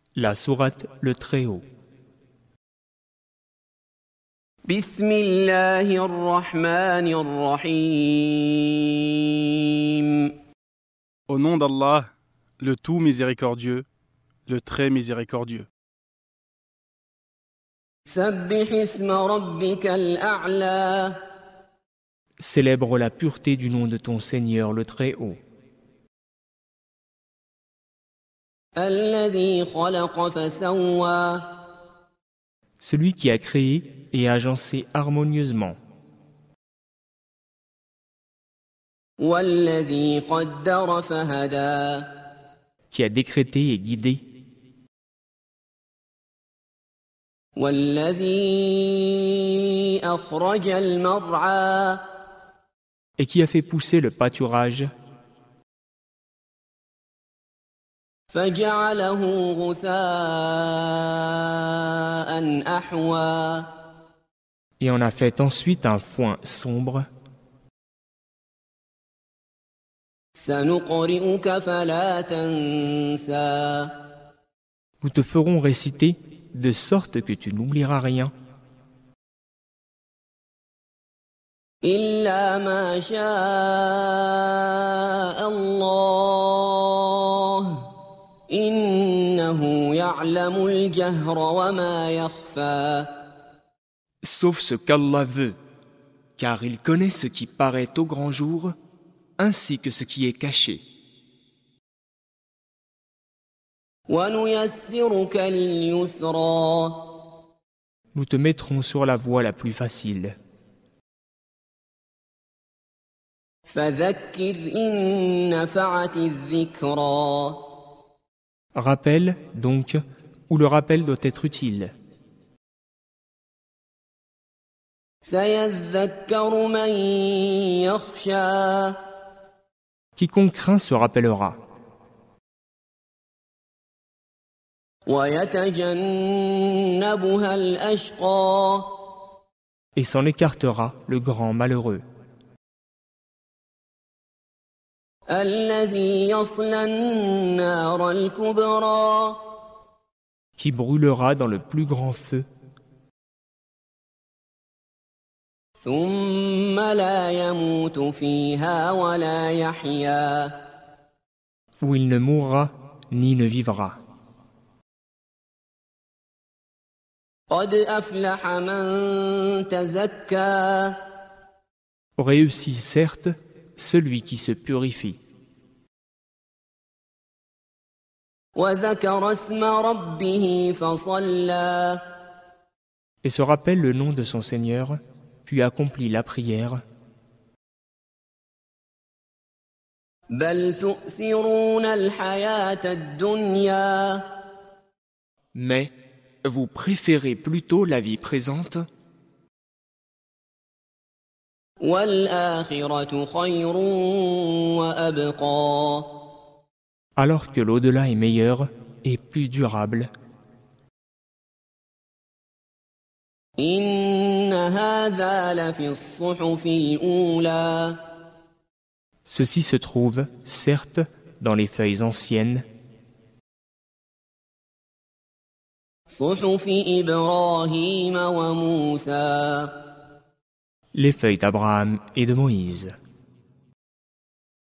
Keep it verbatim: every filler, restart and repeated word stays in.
La sourate Le Très-Haut. Bismillahir-Rahmanir-Rahim. Au nom d'Allah, le tout miséricordieux, le très miséricordieux. Sabbih isma rabbikal a'la. Célèbre la pureté du nom de ton Seigneur le Très-Haut. Alladhi khalaqa fasawwa. Celui qui a créé et agencé harmonieusement. Walladhi qaddara fahada. Qui a décrété et guidé. Walladhi akhraja al-mar'a. Et qui a fait pousser le pâturage. Faja'alahu ghutha'an ahwa. Et en a fait ensuite un foin sombre. Sanuqri'uka fala tansa. Nous te ferons réciter de sorte que tu n'oublieras rien. Illa ma sha'a Allah. Innahu ya'lamu al-jahra wa ma yakhfa. Sauf ce qu'Allah veut, car il connaît ce qui paraît au grand jour, ainsi que ce qui est caché. Wa nuyassiruka lil-yusra. Nous te mettrons sur la voie la plus facile. Fadhakkir in nafa'ati adh-dhikra. Rappel, donc, où le rappel doit être utile. Sayadhakkaru man yakhsha. Quiconque craint se rappellera. Wa yatajannabuha al-ashqa. Et s'en écartera le grand malheureux. Alladhi yasla an-nar al-kubra. Qui brûlera dans le plus grand feu. Thumma la yamutu fiha wa la yahya. Où il ne mourra ni ne vivra. Qad aflaha man tazakka. Réussit certes celui qui se purifie. Wa dhakara isma rabbih fasalla. Et se rappelle le nom de son Seigneur, puis accomplit la prière. Bal tu'thiruna al-hayata ad-dunya. Mais vous préférez plutôt la vie présente, Wal-akhiratu khayrun wa abqa. alors que l'au-delà est meilleur et plus durable. Inna hadha la fi as-suhufi al-ula. Ceci se trouve, certes, dans les feuilles anciennes, Suhufi Ibrahim wa Musa. les feuilles d'Abraham et de Moïse.